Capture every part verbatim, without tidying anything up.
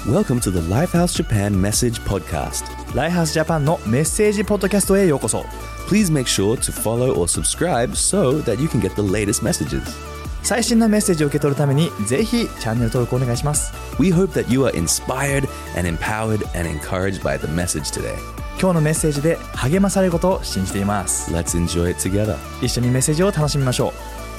Welcome to the Lifehouse Japan Message Podcast. ライハースジャパンのメッセージポッドキャストへようこそ。 Please make sure to follow or subscribe so that you can get the latest messages. 最新のメッセージを受け取るためにぜひチャンネル登録お願いします。 We hope that you are inspired and empowered and encouraged by the message today. 今日のメッセージで励まされることを信じています。 Let's enjoy it together. 一緒にメッセージを楽しみましょう。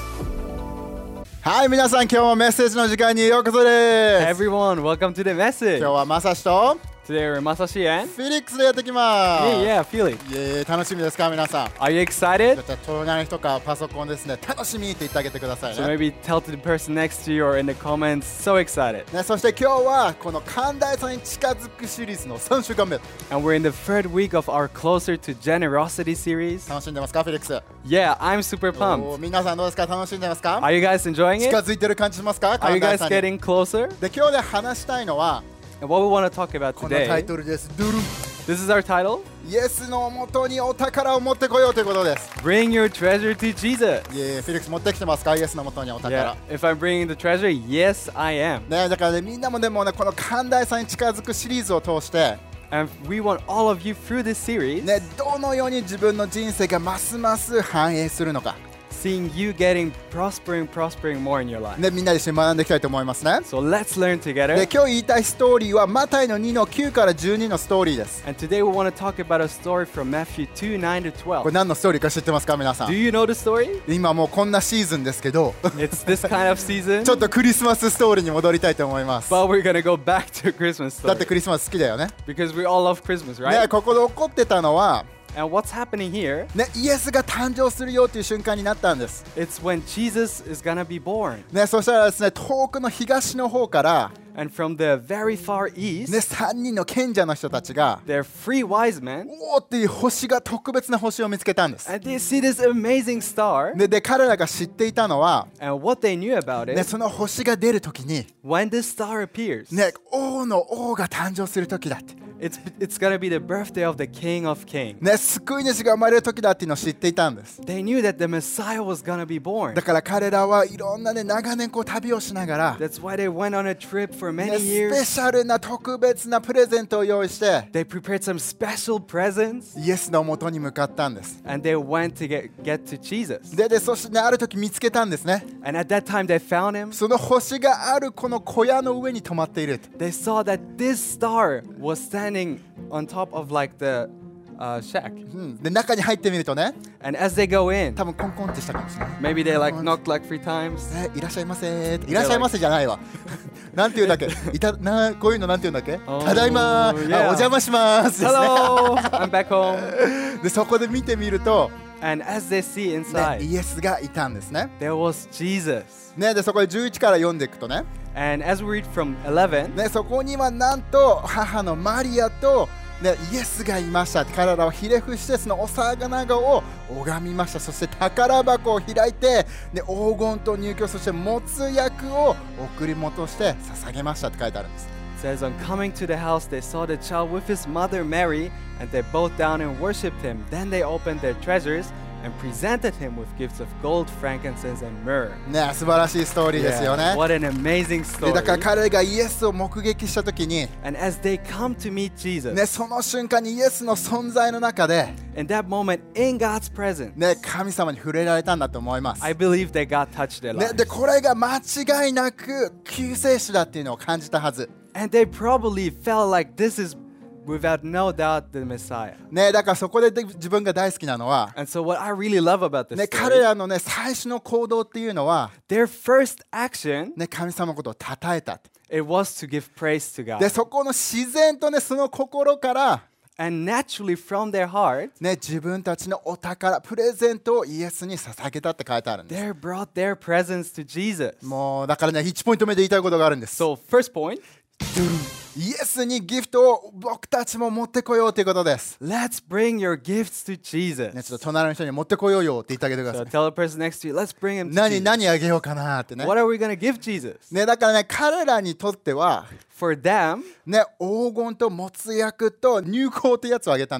はい、皆さん今日もメッセージの時間にようこそです。 Hey everyone, welcome to the message. 今日はまさしと Today we're Masashi and フィリックスでやってきます。 yeah, yeah, Felix. イエーイ、楽しみですか皆さん。 Are you excited? じゃあ隣の人かパソコンですね、楽しみって言ってあげてください So ね。 maybe tell to the person next to you or in the comments. So excited. ね、そして今日はこの寛大さに近づくシリーズのさんしゅうかんめ。 And we're in the third week of our Closer to Generosity series. 楽しんでますかフィリックス。 Yeah, I'm super お pumped. ー皆さんどうですか、楽しんでますか Are you guys enjoying 近 it? づいてる感じしますか Are you 寛大 guys さに。 getting closer? で、今日で話したいのは And what we want to talk about このタイ today, トルです。ドゥルン this is our title, イエスのもとにお宝を持ってこようということです。 Bring Your Treasure to Jesus. イエーイ、フィリックス持ってきてますかイエスのもとにお宝。 Yeah, if I'm bringing the treasure, yes, I am. ね、だからね、みんなもでもね、この寛大さに近づくシリーズを通して、 And we want all of you through this series, ね、どのように自分の人生がますます繁栄するのか、 seeing you getting prospering, prospering more in your life. ね、みんなで一緒に学んでいきたいと思いますね。 So let's learn で、 together. 今日言いたいストーリーはマタイのにのきゅうからじゅうにのストーリーです。 And today we want to talk about a story from Matthew two nine to これ twelve. 何のストーリーか知ってますか皆さ Do ん。 you know the story? 今もうこんなシーズンですけど It's this kind of season, ちょっとクリスマスストーリーに戻りたいと思います。 but we're gonna go back to Christmas だって story クリスマス好きだよね。 because we all love Christmas, ね、 right? ここで起こってたのは、 And what's happening here? ね、イエスが誕生するよという瞬間になったんです。 It's when Jesus is gonna be born, ね、そしたらですね、遠くの東の方から、 and from the very far ね、 east, さんにんの賢者の人たちが there are three wise men, おーっていう星が特別な星を見つけたんです。 and they see this amazing star. で, で彼らが知っていたのは、 And what they knew about ね、 it, その星が出るときに、 when this star appears, ね、王の王が誕生するときだって、 it's it's gonna be the birthday of the King of Kings. ね、救い主が生まれるときだっていうのを知っていたんです。 They knew that the Messiah was gonna be born. だから彼らはいろんな、ね、長年こう旅をしながら、 That's why they went on a trip for ね、 many スペ years. シャルな特別なプレゼントを用意して They prepared some special presents イエスの元に向かったんです。 and they went to get, get to Jesus. で, でそして、ね、ある時見つけたんですね。 And at that time they found him. その星があるこの小屋の上に止まっている。 They saw that this star was standing on top of like the uh, shack. うん、で中に入ってみるとね、 And as they go in, 多分コンコンってしたかもしれない。 maybe they like knocked like three times. えいらっしゃいませー。いらっしゃいませじゃないわ。なんて言うんだっけ、いたな、こういうのなんて言うんだっけ、 Oh, ただいまー、 yeah. あお邪魔しますですね。 Hello, I'm back home. でそこで見てみると、 And as they see ね、 inside, イエスがいたんですね。 there was Jesus. ね、でそこでじゅういちから読んでいくとね、 And as we read from eleven, ね、そこにはなんと母のマリアと、ね、イエスがいました。彼らをひれ伏してそのお魚を拝みました。そして宝箱を開いて、ね、黄金と入居、そして没薬を贈り物として捧げましたって書いてあるんです。 it says, on coming to the house, they saw the child with his mother Mary, and they bowed down and worshipped him. Then they opened their treasures and presented him with gifts of gold, frankincense, and myrrh. ね、素晴らしいストーリーですよね。 What an amazing でだから story. 彼がイエスを目撃したときに、 And as they come to meet Jesus, ね、その瞬間にイエスの存在の中で、 in that moment, in God's presence, ね、神様に触れられたんだと思います。 I believe that God touched their ね、 lives. でこれが間違いなく救世主だっていうのを感じたはず。 And they probably felt like this is, without no doubt, the Messiah. ね、だからそこでで自分が大好きなのは、 And so what I really love about this ね、 story, 彼らの、ね、最初の行動っていうのは、 their first action, ね、神様のことを称えた。 it was to give praise to で God. そこの自然と、ね、その心から、 And naturally from their heart, ね、自分たちのお宝プレゼントをイエスに捧げたって書いてあるんです。 they brought their presents to Jesus. もうだからね、いちポイント目で言いたいことがあるんです。 So first point, イエスにギフトを僕たちも持ってこようということです。 let's bring your gifts to ね、 Jesus. ちょっと隣の人に持ってこようよって言ってあげてくださ So い。 tell the person next to you, let's bring him to 何 Jesus. 何あげようかなってね。 What are we going to give Jesus? ね、だからね、彼らにとっては、 For them, ね、黄金と没薬と入香ってやつをあげたんですね。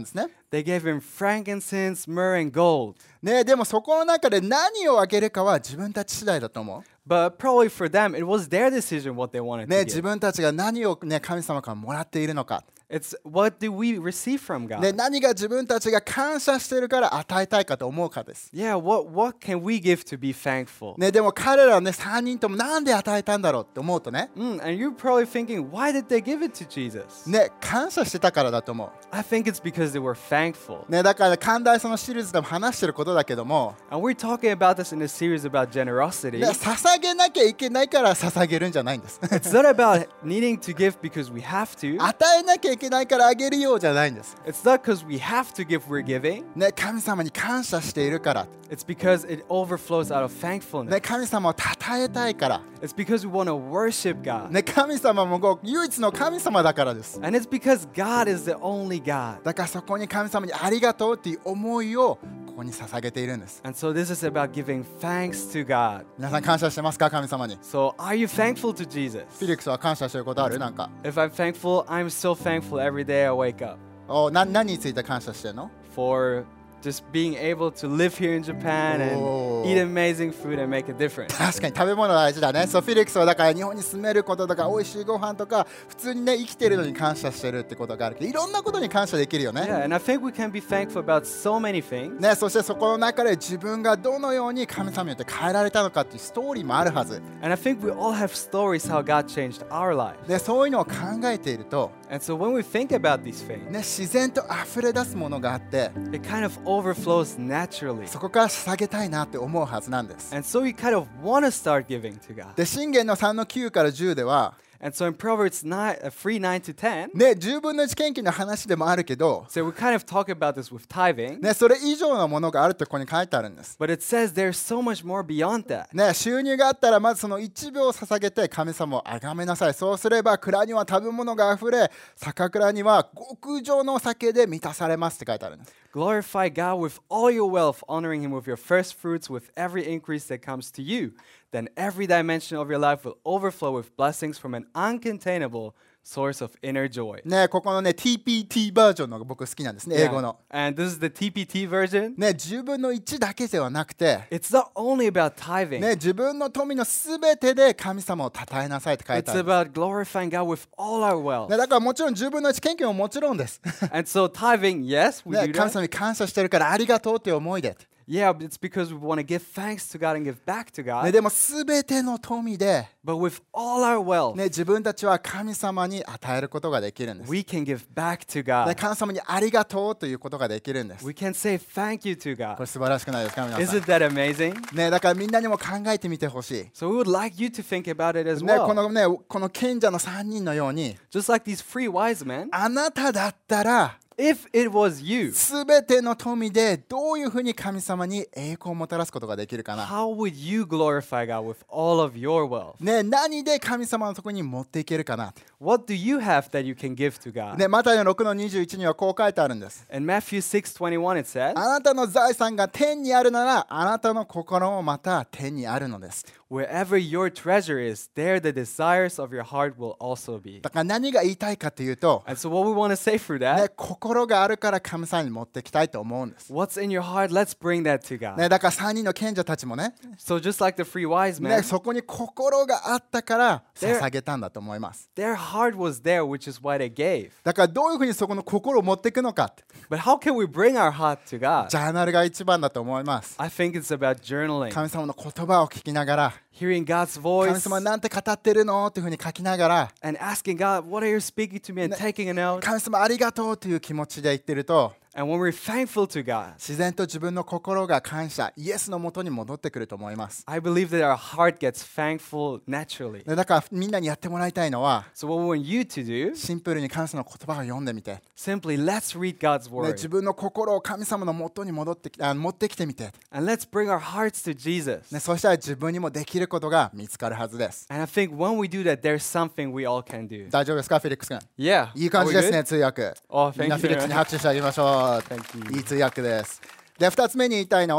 They gave him frankincense, myrrh, and gold. ね、でもそこの中で何をあげるかは自分たち次第だと思う。 But probably for them, it was their decision what they wanted ね、 to 自 give. 分たちが何を、ね、神様からもらっているのか、 It's what do we receive from ね、 God? 何が自分たちが感謝しているから与えたいかと思うかです。 Yeah, what, what can we give to be thankful? ね、でも彼らね、さんにんともなんで与えたんだろうって思うとね、 Mm, and you're probably thinking, why did they give it to Jesus? ね、感謝してたからだと思う。 I think it's because they were thankful. ね、だから寛大さのシリーズでも話してることだけども、 And we're talking about this in a series about generosity. ね、捧げなきゃいけないから捧げるんじゃないんです。 It's not about needing to give because we have to. 与えなきゃいけないからあげるようじゃないんです。 It's not because we have to give, we're giving. ね、神様に感謝しているから。 It's because it overflows out of thankfulness. ね、神様を称えたいから。 It's because we want to worship God. ね、神様もご唯一の神様だからです。 And it's because God is the only God. だからそこに神様にありがとうっていう思いをここに捧げているんです。 And so this is about giving thanks to God. 皆さん感謝してますか、神様に。 So are you thankful to Jesus? フィリックスは感謝してることある？なんか。 If I'm thankful, I'm so thankful every day I wake up おな何について感謝してるの？ for just being able to live here in Japan Oh. and eat amazing food and make a difference. 確かに食べ物大事だね。そう、フィリックスはだから日本に住めることとか美味しいご飯とか普通にね生きてるのに感謝してるってことがあるけど、いろんなことに感謝できるよね。 Yeah, and I think we can be thankful about so many things. ね、そしてそこの中で自分がどのように神様によって変えられたのかっていうストーリーもあるはず。 And I think we all have stories how God changed our lives. で、そういうのを考えていると、 And so when we think about these things, ね、自然と溢れ出すものがあって、 it kind of overflows naturally. そこから捧げたいなって思うはずなんです。 And so we kind of want to start giving to God. で、箴言のさんのきゅうからじゅうでは、 And so in Proverbs nine, uh, three, nine to ten, ね、じゅうぶんのいち献金の話でもあるけど、 so we kind of talk about this with tithing, ね、それ以上のものがあるってここに書いてあるんです。 but it says there's so much more beyond that. ね、収入があったらまずそのいちびょうを捧げて神様を崇めなさい。そうすれば蔵には食べ物があふれ、酒蔵には極上のお酒で満たされますって書いてあるんです。 Glorify God with all your wealth, honoring Him with your first fruits, with every increase that comes to you. Then every dimension of your life will overflow with blessings from an uncontainable source of inner joy. ね、ここのね ティーピーティー バージョンのが僕好きなんですね、英語の。 And this is the T P T version. ね、じゅうぶんのいちだけではなくて、 It's not only about tithing. ね、自分の富のすべてで神様を称えなさいって書いて It's あるんです。 about glorifying God with all our wealth. ね、だからもちろんじゅうぶんのいち献金ももちろんです。 And so tithing, yes, we ね、 do 神 that. 様に感謝してるからありがとうっていう思いで。 Yeah, but it's because we want to give thanks to God and give back to ね、 God. でもすべての富で、 But with all our wealth, ね、自分たちは神様に与えることができるんです。 we can give back to ね、 God. 神様にありがとうということができるんです。 We can say thank you to これ God. 素晴らしくないですか、皆さん。 Isn't that amazing? ね、だからみんなにも考えてみてほしい。 So we would like you to think about it as ね、こ well. のね、この賢者のさんにんのように、 Just like these three wise men, あなただったら、 if it was you, すべての富でどういうふうに神様に栄光をもたらすことができるかな。 how would you glorify God with all of your wealth? ね、何で神様のところに持っていけるかな。 What do you have that you can give to God? ね、マタイのろくのにじゅういちにはこう書いてあるんです。 In Matthew six twenty-one, it says, あなたの財産が天にあるなら、あなたの心もまた天にあるのです。 wherever your treasure is, there the desires of your heart will also be. だから何が言いたいかというと、 And so what we want to say through ね、 that, 心があるから神様に持っていきたいと思うんです。 what's in your heart, let's bring that to God. ね、だからさんにんの賢者たちもね、 So just like the three wise ね、 men, そこに心があったからで捧げたんだと思います。 their heart was there, which is why they gave. だからどういうふうにそこの心を持っていくのかって、 But how can we bring our heart to God? ジャーナルが一番だと思います。 I think it's about journaling, 神様の言葉を聞きながら、 hearing God's 神 voice, 様なんて語ってるのっていうふうに書きながら、 and asking God, what are you speaking to me, and taking a note. 神様ありがとうという気持ちで言ってると、 And when we're thankful to God, 自然と自分の心が感謝、イエスのもとに戻ってくると思います。 I believe that our heart gets thankful naturally. でだからみんなにやってもらいたいのは、 So what we want you to do, シンプルに神様の言葉を読んでみて、ね、 simply let's read God's 自 word. 分の心を神様のもとに戻ってきあ持ってきてみて、 And let's bring our hearts to Jesus. ね、そしたら自分にもできることが見つかるはずです。 And I think when we do that, there's something we all can do. 大丈夫ですか、フェリックス君。 Yeah. いい感じです Are we ね、 good? 通訳。 Oh, みんな thank フィリックス you. に拍手してあげましょう。 Thank you. いい通訳です。で、二つ目に言いたいのは、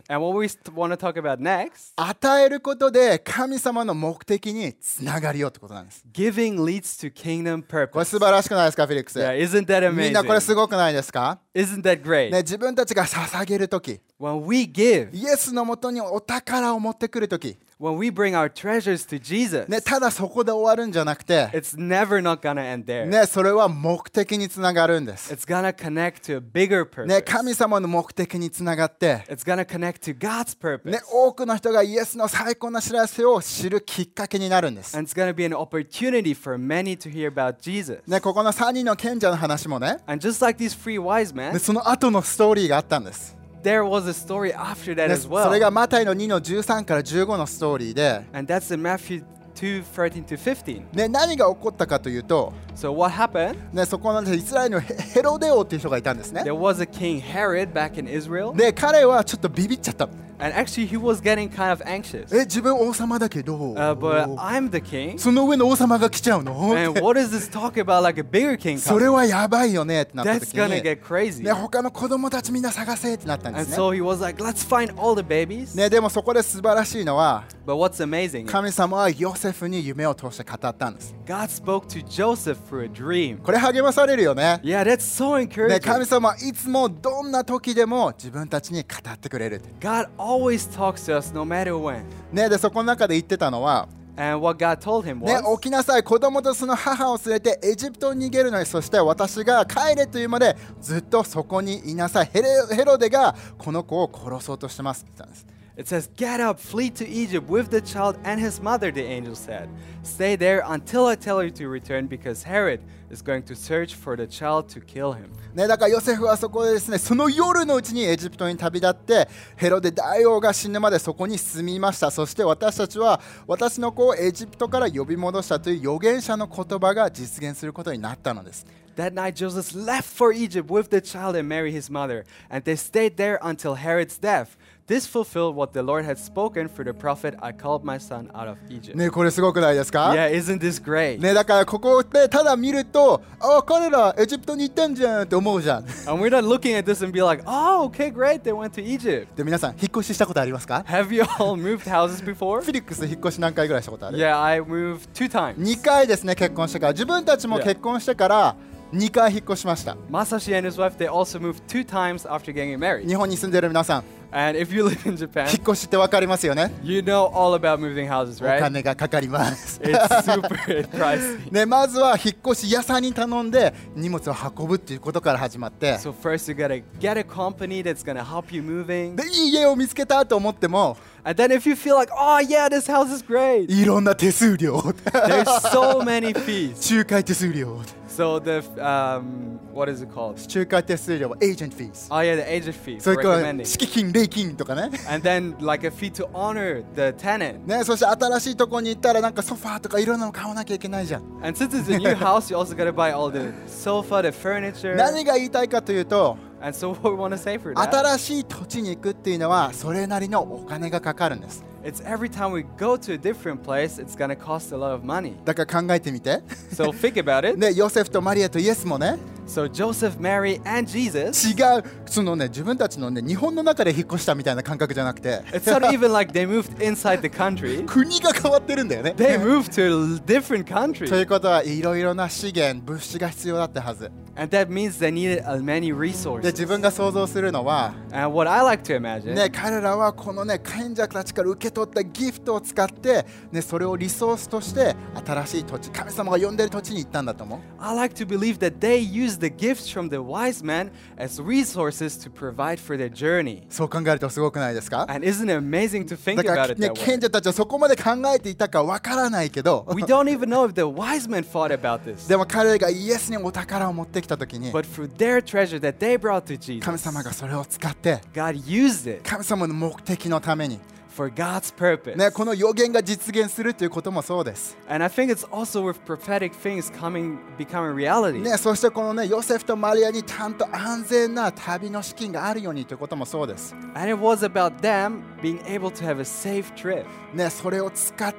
And what we want to talk about next, 与えることで神様の目的につながりよってことなんです。 giving leads to kingdom これ purpose. 素晴らしくないですか、フィリックス。 Yeah, isn't that みんなこれ amazing? すごくないですか、 Isn't that great? ね、自分たちが捧げるとき、 When we give, イエスのもとにお宝を持ってくるとき、 when we bring our treasures to Jesus, ね、ただそこで終わるんじゃなくて、 it's never not gonna end there. ね、それは目的につながるんです。 It's gonna connect to a bigger ね、 purpose. 神様の目的につながって、 It's gonna connect to God's purpose. ね、多くの人がイエスの最高な知らせを知るきっかけになるんです。 And it's gonna be an opportunity for many to hear about Jesus. ね、ここのさんにんの賢者の話もね、 And just like these three wise ね men, その後のストーリーがあったんです。 there was a story after that ね、 as それが well. マタイのにのじゅうさんからじゅうごのストーリーで、 And that's in Matthew two thirteen to fifteen. ね、何が起こったかというと、 So what happened? ね、そこのイスラエルのヘヘロデ王っていう人がいたんですね。 There was a king Herod back in Israel. で、彼はちょっとビビっちゃった。 And actually he was getting kind of anxious. え、自分王様だけど、 Uh, but I'm the king. その上の王様が来ちゃうの And what is this talk about like a bigger king それ coming? はやばいよねってなった That's 時 gonna に、 get crazy. ね、他の子供たちみんな探せってなったんで And すね。 so he was like, let's find all the babies. ね、でもそこで素晴らしいのは、 But what's amazing, 神様はヨセフに夢を通して語ったんです。 God spoke to Joseph through a dream. これ励まされるよね。 Yeah, that's so ね、 encouraging. 神様はいつもどんな時でも自分たちに語ってくれるって。 God always talks to us no matter when. ね、でそこの中で言ってたのは、 And what God told him ね、 was, 起きなさい、子供とその母を連れてエジプトに逃げるのに、そして私が帰れというまでずっとそこにいなさい。ヘレヘロデがこの子を殺そうとしてますって言ったんです。 it says, get up, flee to Egypt with the child and his mother, the angel said. Stay there until I tell you to return because Herod is going to search for the child to kill him. ね、だからヨセフはそこでですね、その夜のうちにエジプトに旅立ってヘロデ大王が死ぬまでそこに住みました。そして私たちは私の子をエジプトから呼び戻したという預言者の言葉が実現することになったのです。 That night Joseph left for Egypt with the child and Mary his mother, and they stayed there until Herod's death. This fulfilled what the Lord had spoken through the prophet, I called my son out of Egypt. ね、これすごくないですか？ Yeah, isn't this great? ね、だからここでただ見ると、あ、彼らエジプトに行ったんじゃんって思うじゃん。 And we're not looking at this and be like, oh, okay, great, they went to Egypt. で、皆さん引っ越ししたことありますか？ Have you all moved houses フ before? ィリックス引っ越し何回ぐらいしたことある？ Yeah, I moved two times. にかいですね、結婚してから。自分たちも Yeah. 結婚してからにかい引っ越しました。 Masashi and his wife, they also moved two times after getting married. 日本に住んでる皆さん、 And if you live in 引 Japan, っ越しってわかりますよね。 you know all about moving houses, お right? 金がかかります。 It's super pricey. ね、まずは引っ越し屋さんに頼んで荷物を運ぶっていうことから始まって、 So first you gotta get a company that's gonna help you moving. で、いい家を見つけたと思っても And then if you feel like, oh yeah, this house is great, いろんな手数料 there's so many fees. 仲介手数料 So the, um, what is it called? 仲介手数料はエージェントフィーズ、 Oh yeah, the agent fee そ for れから recommending. 敷金礼金とかね。 And then like a fee to honor the tenant. ね、そして新しいとこに行ったらなんかソファーとかいろんなの買わなきゃいけないじゃん。 And since it's a new house, you also gotta buy all the sofa, the furniture. 何が言いたいかというと、 And so what we want to say for that, 新しい土地に行くっていうのはそれなりのお金がかかるんです。 it's every time we go to a different place, it's gonna cost a lot of money. だから考えてみて。 So think about it. ね、ヨセフとマリアとイエスもね、 So Joseph, Mary, and Jesus, 違う、そのね、自分たちのね、日本の中で引っ越したみたいな感覚じゃなくて、 it's not even like they moved inside the country. 国が変わってるんだよね。 They moved to a different と country. いうことはいろいろな資源、物資が必要だったはず。 And that means they needed uh, many で、 resources. 自分が想像するのは、 And what I like to imagine, ね、彼らはこのね、賢者たちから受け取ったギフトを使って、ね、それをリソースとして新しい土地、神様が呼んでる土地に行ったんだと思う。 I like to believe that they used the gifts from the wise men as resources to provide for their journey. そう考えるとすごくないですか？ And isn't it amazing to think だか about ら it ね、 that way? 賢者たちはそこまで考えていたかわからないけど、 We don't even know if the wise men thought about this. でも彼がイエスにお宝を持ってきたときに、 But through their treasure that they brought to 神 Jesus, 様がそれを使って、 God used it 神様の目的のために、 for God's purpose. ね、この予言が実現するということもそうです。 And I think it's also with prophetic things coming, becoming reality. ね、そしてこのね、ヨセフとマリアにちゃんと安全な旅の資金があるようにということもそうです。 And it was about them being able to have a safe trip. ね、それを使って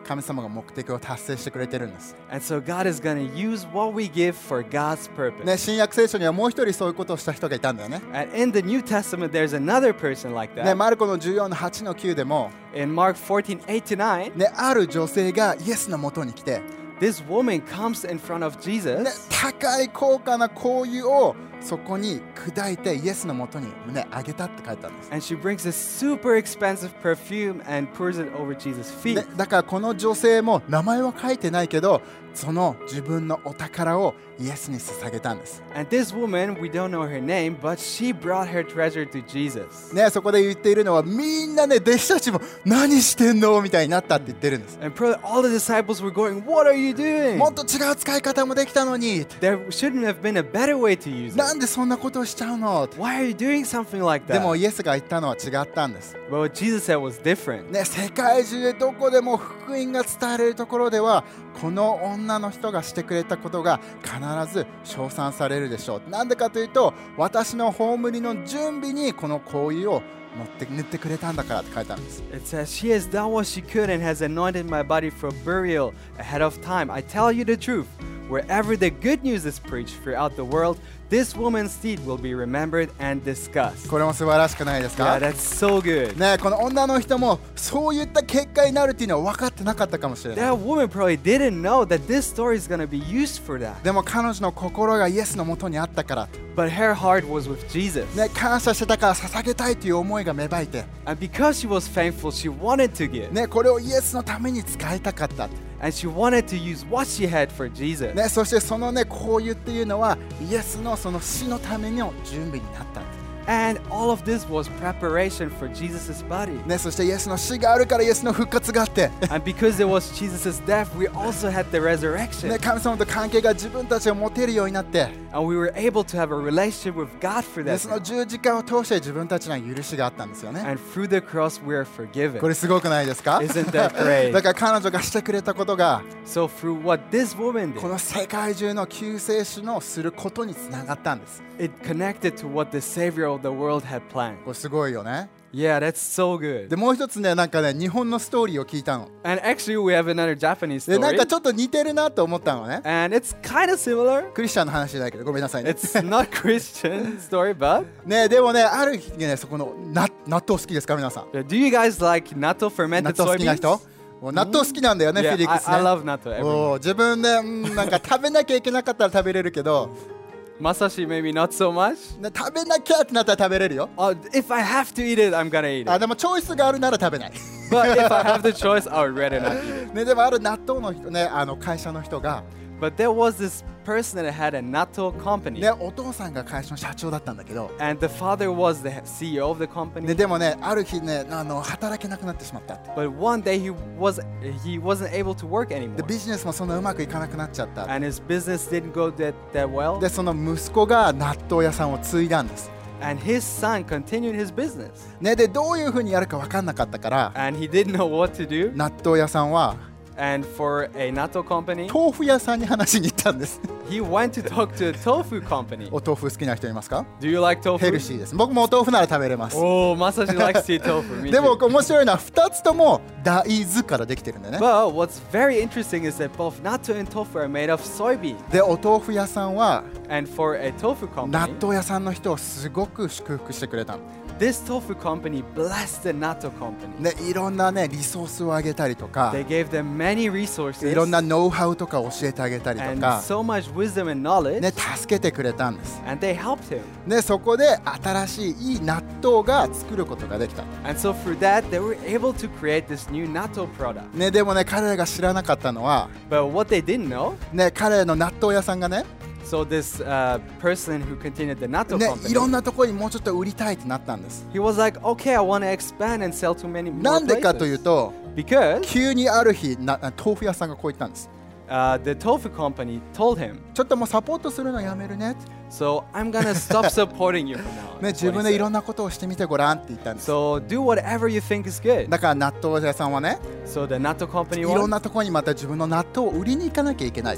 神様が目的を達成してくれてるんです、 And so God is going to use what we give for God's purpose. ね、新約聖書にはもう一人そういうことをした人がいたんだよね。 And in the New Testament, there's another person like ね、 that. マルコのじゅうよんのはちのきゅうでも、 In Mark fourteen, eight to nine, ね、ある女性がイエスのもとに来て、 this woman comes in front of ね、 Jesus 高い高価な香油をそこに砕いてイエスのもとに、ね、あげたって書いてあるんです、 and she brings this super expensive perfume and pours it over Jesus' feet. ね、だからこの女性も名前は書いてないけどその自分のお宝をイエスに捧げたんです、 And this woman, we don't know her name, but she brought her treasure to Jesus. ね、そこで言っているのはみんなね弟子たちも何してんのみたいになったって言ってるんです、 And probably all the disciples were going, "What are you doing? もっと違う使い方もできたのに There shouldn't have been a better way to use な it. んでそんなことをしちゃうの Why are you doing something like でも that?" イエスが言ったのは違ったんです、 But what Jesus said was different. ね、世界中でどこでも福音が伝えられるところではこの女の人がしてくれたことが必ず称賛されるでしょう。なんでかというと私の葬りの準備にこの香油を持って塗ってくれたんだからって書いてあるんです。 It says, "She has done what she could and has anointed my body for burial ahead of time. I tell you the truth, wherever the good news is preached throughout the world, this woman's deed will be remembered and discussed." これも素晴らしくないですか Yeah, that's so good. ね、この女の人もそういった結果になるっていうのは分かってなかったかもしれない。 That woman probably didn't know that this story is going to be used for that. でも彼女の心がイエスのもとにあったから、 But her heart was with Jesus. ね、感謝してたから捧げたいという思いが芽生えて、 And because she was thankful, she wanted to give. ね、これをイエスのために使いたかった。 And she wanted to use what she had for Jesus. ね、そしてそのね、こういうっていうのはイエスのその死のための準備になった。 And all of this was preparation for Jesus' body. ね、そしてイエスの死があるからイエスの復活があって、 And because there was Jesus' death, we also had the ね、 resurrection. 神様と関係が自分たちを持てるようになって、 And we were able to have a relationship with God for ね、 that. その十字架を通して自分たちの許しがあったんですよね。 And through the cross, we are forgiven. これすごくないですか Isn't that great? だから彼女がしてくれたことが So through what this woman こ did, の世界中の救世主のすることにつながったんです。 it connected to what the Savior of the world had planned. これすごいよね。 Yeah, that's so good. でもう一つね、なんかね、日本のストーリーを聞いたの。 And actually, we have another Japanese で、なん story. かちょっと似てるなと思ったのね。 And it's kind of similar. クリスチャンの話じゃないけどごめんなさいね。 It's not Christian story, but ね、でもね、ある日ね、そこのな納豆好きですか皆さん。 do you guys like natto 納 fermented 豆好きな人 soybeans? もう納豆好きなんだよね、 Yeah, フィリッ I, クスね。 I love natto. Every おー自分で、うんなんか食べなきゃいけなかったら食べれるけど、 Masashi, maybe not so much. ね、食べなきゃってなったら食べれるよ。 Oh, if I have to eat it, I'm gonna eat あ it. でもチョイスがあるなら食べない。 But if I have the choice, I would rather not eat it. ね、でもある納豆の人ね、あの会社の人が、 But there was this person that had a natto company. ね、お父さんが会社の社長だったんだけど、 And the father was the C E O of the company. ね、でもね、ある日ね、あの働けなくなってしまったって。 But one day he was he wasn't able to work で anymore. ビジネスもそんなうまくいかなくなっちゃった。 And his business didn't go that, that well. で、その息子が納豆屋さんを継いだんです。 And his son continued his business. ね、で、どういうふうにやるか分かんなかったから、 And he didn't know what to do. 納豆屋さんは And for a natto company, 豆腐屋さんに話しに行ったんです。 he went to talk to a tofu company. お豆腐好きな人いますか？ Do you like ヘル tofu? シーです。僕もお豆腐なら食べれます。 Oh, Masashi likes to eat tofu. Me でも too. 面白いのはふたつとも大豆からできてるんだよね。 But what's very interesting is that both natto and tofu are made of soybean. で、お豆腐屋さんは And for a tofu 納 company, 豆屋さんの人をすごく祝福してくれたの。 this tofu company blessed the natto company. ね、いろんなね、リソースをあげたりとか、 They gave them many resources いろんなノウハウとか教えてあげたりと and か、 so much wisdom and knowledge, ね、助けてくれたんです。 and they helped him. ね、そこで新しいいい納豆が作ることができた。 And so through that, they were able to create this new natto product. ね、でもね、彼らが知らなかったのは、 But what they didn't know, ね、彼の納豆屋さんがね、 so this uh, person who continued the natto ね、いろん company, なところにもうちょっと売りたいってなったんです。 he was like, okay, I want to expand and sell to many な more んでかという places. と、 Because 急にある日な、豆腐屋さんがこう言ったんです。 uh, the tofu company told him, ちょっともうサポートするのやめるね。 so I'm gonna stop supporting you from now on. ね、 That's 自 what 分 he でいろ said. んなことをしてみてごらんって言ったんです。 So do whatever you think is good. だから納豆屋さんはね、 So the natto い company ろん was, なところにまた自分の納豆を売りに行かなきゃいけない。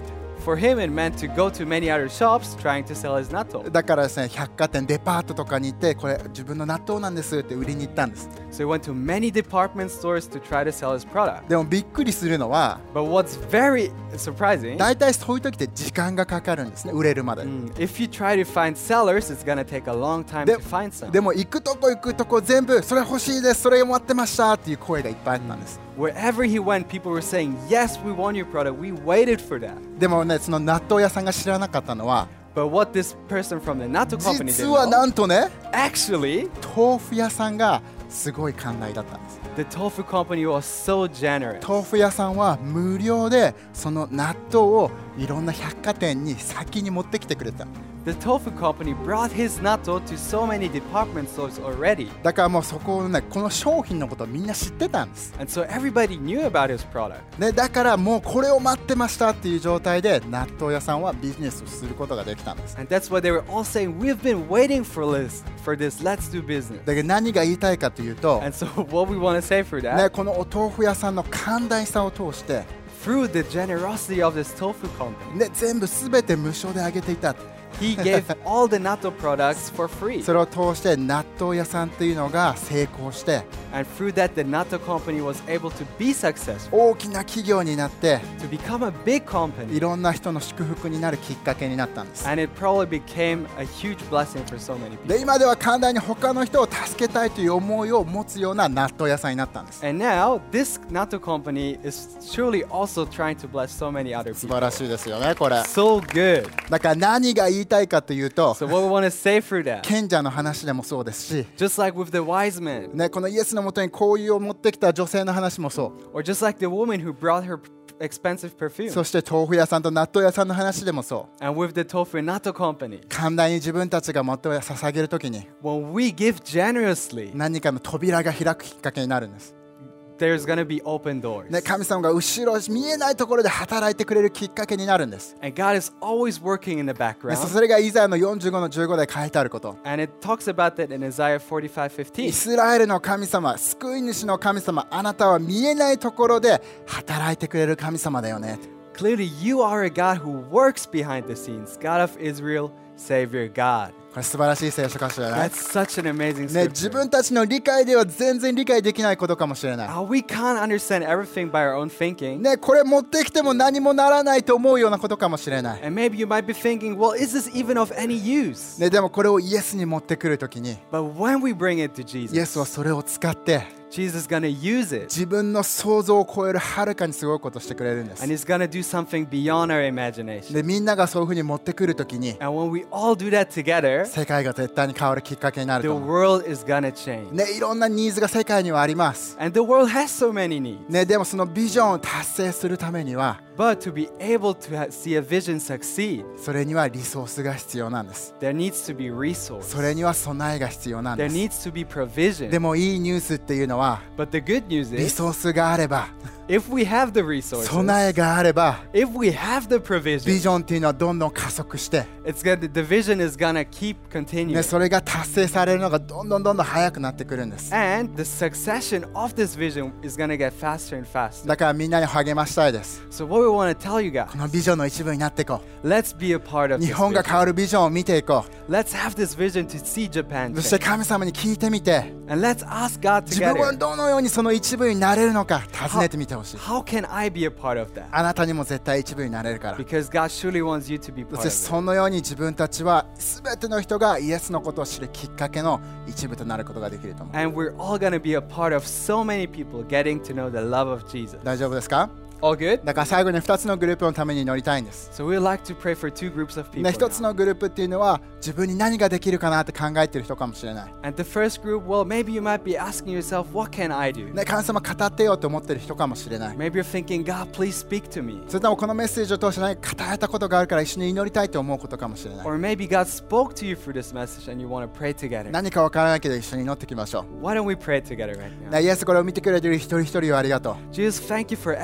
For him, it meant to go to many other shops trying to sell his natto. だからですね、百貨店、デパートとかに行って、これ自分の納豆なんですって売りに行ったんです。 So he went to many department stores to try to sell his product. でもびっくりするのは、 But what's very surprising, 大体そういう時って時間がかかるんですね、売れるまで。 mm, if you try to find sellers, it's gonna take a long time で to find some. でも行くとこ行くとこ全部それ欲しいです、それ待ってましたっていう声がいっぱいあったんです。 Wherever he went, people were saying, yes, we want your product. We waited for that. でもね、その納豆屋さんが知らなかったのは、 But what this person from the natto company 実 didn't は know, なんとね、 actually, 豆腐屋さんがすごい寛大だったんです。 the tofu company was so generous. 豆腐屋さんは無料でその納豆をいろんな百貨店に先に持ってきてくれた。 The tofu company brought his natto to so many department stores already. だからもうそこのね、この商品のことをみんな知ってたんです。 And so everybody knew about his product. ね、だからもうこれを待ってましたっていう状態で納豆屋さんはビジネスをすることができたんです。 And that's why they were all saying, we've been waiting for this, for this, let's do business. だけど何が言いたいかというと、 And so what we want to say for ね、 that, このお豆腐屋さんの寛大さを通して、 through the generosity of this tofu company, ね、全部すべて無償であげていた。 he gave all the natto products for free. それを通して納豆屋さんっていうのが成功して、 And through that, the natto company was able to be successful, 大きな企業になって、 to become a big い company. ろんな人の祝福になるきっかけになったんです。 And it probably became a huge blessing for so many で、 people. 今では寛大に他の人を助けたいという思いを持つような納豆屋さんになったんです。 And now, this natto company is surely also trying to bless so many other 素 people. 晴らしいですよね、これ。 So good. だから何が言いたいかというと、 So what we want to say through that, 賢者の話でもそうですし、 just like with the wise men, ね、このイエスのもとに香油を持ってきた女性の話もそ or just like the woman who brought her p- expensive う。 perfume, そして豆腐屋さんと納豆屋さんの話でもそう。 and with the tofu natto company, 寛大に自分たちがもっと捧げるときに when we give generously, 何かの扉が開くきっかけになるんです。 there's going to be open doors. ね、神様が後ろ見えないところで働いてくれるきっかけになるんです。 And God is always working in the ね、 background. それがイザヤのよんじゅうごのじゅうごで書いてあること。 And it talks about that in Isaiah forty-five イ fifteen. スラエルの神様、救い主の神様、あなたは見えないところで働いてくれる神様だよね。 Clearly, you are a God who works behind the scenes, God of Israel, Savior God. これ素晴らしい聖書箇所じゃない？ That's such an amazing ね、自 scripture. 分たちの理解では全然理解できないことかもしれない。 Uh, we can't understand everything by our own thinking. ね、これ持ってきても何もならないと思うようなことかもしれない。 And maybe you might be thinking, well, is this even of any use? ね、でもこれをイエスに持ってくるときに、 But when we bring it to イエスは Jesus, それを使って Jesus is going to use it. 自分の想像を超えるはるかにすごいことをしてくれるんです。 And He's going to do something beyond our imagination. で、みんながそういうふうに持ってくるときに、 And when we all do that together, 世界が絶対に変わるきっかけになる the と思う。 world is going to change. ね、いろんなニーズが世界にはあります。 And the world has so many needs. ね、でもそのビジョンを達成するためには、 But to be able to ha- see a vision succeed, それにはリソースが必要なんです。 there needs to be resource. それには備えが必要なん There です。 needs to be provision. でもいいニュースっていうのは、 But the good news リ is, ソースがあれば、 if we have the resources, 備えがあれば、 if we have the ビ provision, ジョンっていうのはどんどん加速して、 it's gonna, the vision is gonna keep ね、 continuing. それが達成されるのがどんどんどんどん早くなってくるんです。 And the succession of this vision is gonna get faster and faster. だからみんなに励ましたいです。 So what we want to tell you こ guys, のビジョンの一部になっていこ let's be a part う。 of 日 this 本が vision. 変わるビジョンを見ていこ Let's have this vision to see う。 Japan そして change. 神様に聞いてみて、 And let's ask God 自分は together, どのようにその一部になれるのか尋ねてみてほしい。 how can I be a part of that? あなたにも絶対一部になれるから。 Because God surely wants you to be そ part して of it. そのように自分たちは全ての人がイエスのことを知るきっかけの一部となることができると思う。 And we're all gonna be a part of so many people getting to know the love of Jesus. 大丈夫ですか？ All good? だから最後にふたつのグループのために祈りたいんです。 So we'd like to pray for two groups of people. ね、ひとつ now. のグループっていうのは自分に何ができるかなって考えてる人かもしれない。 And the first group, well, maybe you might be asking yourself, what can I do? ね、神様語ってよって思ってる人かもしれない。 Maybe you're thinking, God, please speak to me. それともこのメッセージを通して何か語られたことがあるから一緒に祈りたいと思うことかもしれない。 Or maybe God spoke to you through this message and you want to pray together. 何かわからないけど一緒に祈っていきましょ Why don't we pray together right う。 now? ね、イエスこれを見てくれてる一人一人をありがとう。 Jesus, thank you for everybody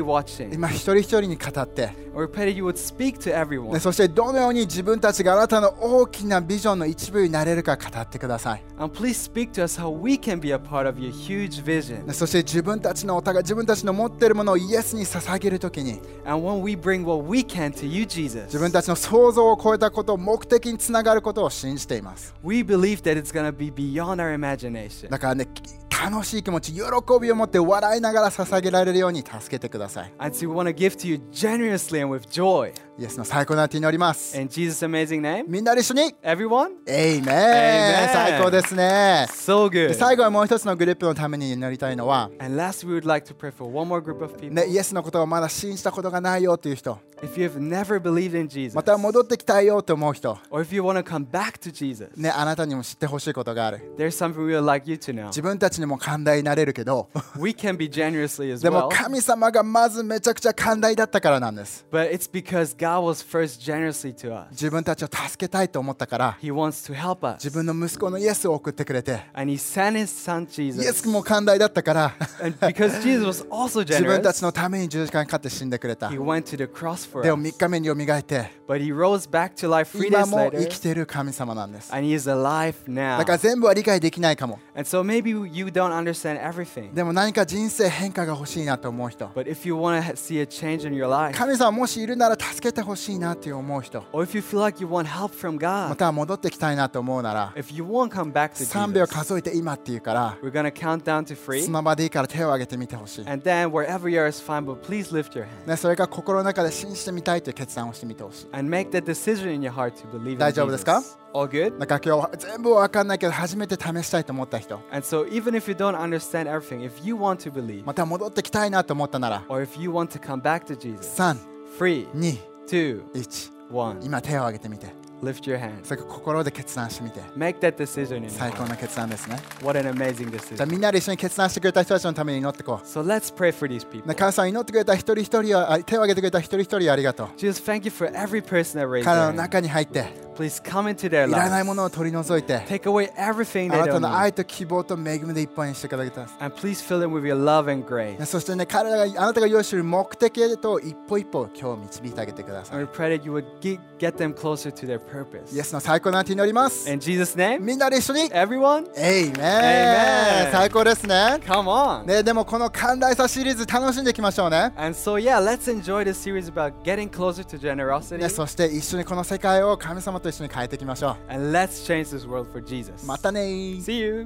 watching. 今一人一人に語って、 We pray that you would speak to ね、 everyone. そしてどのように自分たちがあなたの大きなビジョンの一部になれるか語ってください。 And please speak to us how we can be a part of your huge vision. ね、そして自分たちのお互い自分たちの持っているものをイエスに捧げるときに、 And when we bring what we can to you, 自 Jesus, 分たちの想像を超えたことを目的につながることを信じています。 we believe that it's going to be beyond our imagination. だからね、楽しい気持ち、喜びを持って笑いながら捧げられるように助けてください。 And so we want to give to you generously and with joy. イエスの最高な手に祈ります。 In Jesus' amazing name, みんなで一緒に everyone, エイメン Amen 最高ですね。 so で good. 最後はもう一つのグループのために祈りたいのは、 And last, we would like to pray for one more group of people. ね、イエスのことをまだ信じたことがないよという人、 If you have never believed in Jesus, また戻ってきたいよと思う人、 or if you want to come back to Jesus, ね、あなたにも知ってほしいことがある。 there's something we would like you to know. 自分たちにも寛大になれるけど、 We can be generously as でも well, 神様がまずめちゃくちゃ寛大だったからなんです。 but it's because God was first generously to us. 自分たちを助けたいと思ったから、 He wants to help us. 自分の息子のイエスを送ってくれて、 And He sent His Son イエ Jesus. スも寛大だったから、 And because Jesus was also 自分たち generous, のために十字架にかかって死んでくれた。 He went to the cross for でも us. みっかめによみがえって、 But He rose back to life three 今 days も later, 生きている神様なんです。 and He is alive だから now. 全部は理解できないかも。 And so maybe you don't understand everything. でも何か人生変化が欲しいなと思う人、 But if you want to see a change in your life, 神様もしいるなら助けてほしいなって思う人、 or if you feel like you want help from ま God, たは戻ってきたいなと思うなら、 if you want to come back to さんびょう Jesus, 数えて今って言うから、 we're going to count down to そ three. の場でいいから手を挙げてみてほしい。 And then wherever you are is fine, but please lift your hand ね、それから心の中で信じてみたいという決断をしてみてほしい。 and make that decision in your heart to believe in 大丈夫ですか？ Jesus. All good? なんか今日全部わかんないけど初めて試したいと思った人、 And so even if you don't understand everything, if you want to believe, また戻ってきたいなと思ったなら、 or if you want to come back to Jesus, さん、 three, に、 two, いち、 one, 今手を挙げてみて、 lift your hand. それから心で決断してみて、 Make that decision in your 最高 heart. な決断ですね。 What an amazing じゃあ decision. みんなで一緒に決断してくれた人たちのために祈っていこ So let's pray for these う。 people. ね、神様祈ってくれた一人一人は、あ手を挙げてくれた一人一人ありがとう。 Jesus, thank you for every person that raised 彼 their の hand. 中に入って、 Please come into their いらないも lives. のを取り除いて、 Take away everything あな they た don't の need. 愛と希望と恵みでいっぱいにしていただきたい。 And please fill them with your love and ね、 grace. そしてね、彼らがあなたが用意している目的へと一歩一歩今日導いてあげてくださ And い。 we pray that you would get, get them closer to their purpose. イエスの最高な手に祈ります。 In Jesus' name, みんなで一緒に、 everyone, エイメン Amen 最高ですね。 come on. ね、でもこの寛大さシリーズ楽しんでいきましょうね。 And so, yeah, let's enjoy this series about getting closer to generosity. ね、そして一緒にこの世界を神様と一緒に変えていきましょ And let's change this world for Jesus. う。またねー。 See you.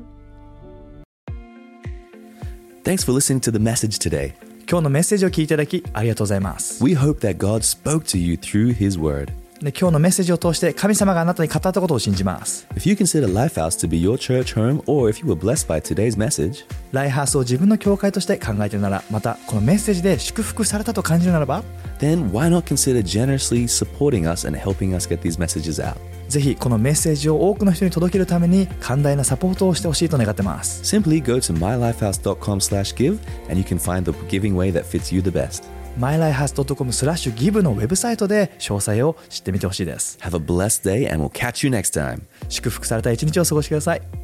Thanks for listening to the message today. 今日のメッセージを聞いていただきありがとうございます。 We hope that God spoke to you through His Word. で今日のメッセージを通して神様があなたに語ったことを信じます。 If you consider Lifehouse to be your church home, or if you were blessed by today's message, ライハースを自分の教会として考えているなら、またこのメッセージで祝福されたと感じるならば、 then why not consider generously supporting us and helping us get these messages out? ぜひこのメッセージを多くの人に届けるために寛大なサポートをしてほしいと願ってます。 Simply go to my life house dot com slash give and you can find the giving way that fits you the best. マイライハースドットコムスラッシュギブのウェブサイトで詳細を知ってみてほしいです。 Have a blessed day and we'll catch you next time. 祝福された一日を過ごしてください。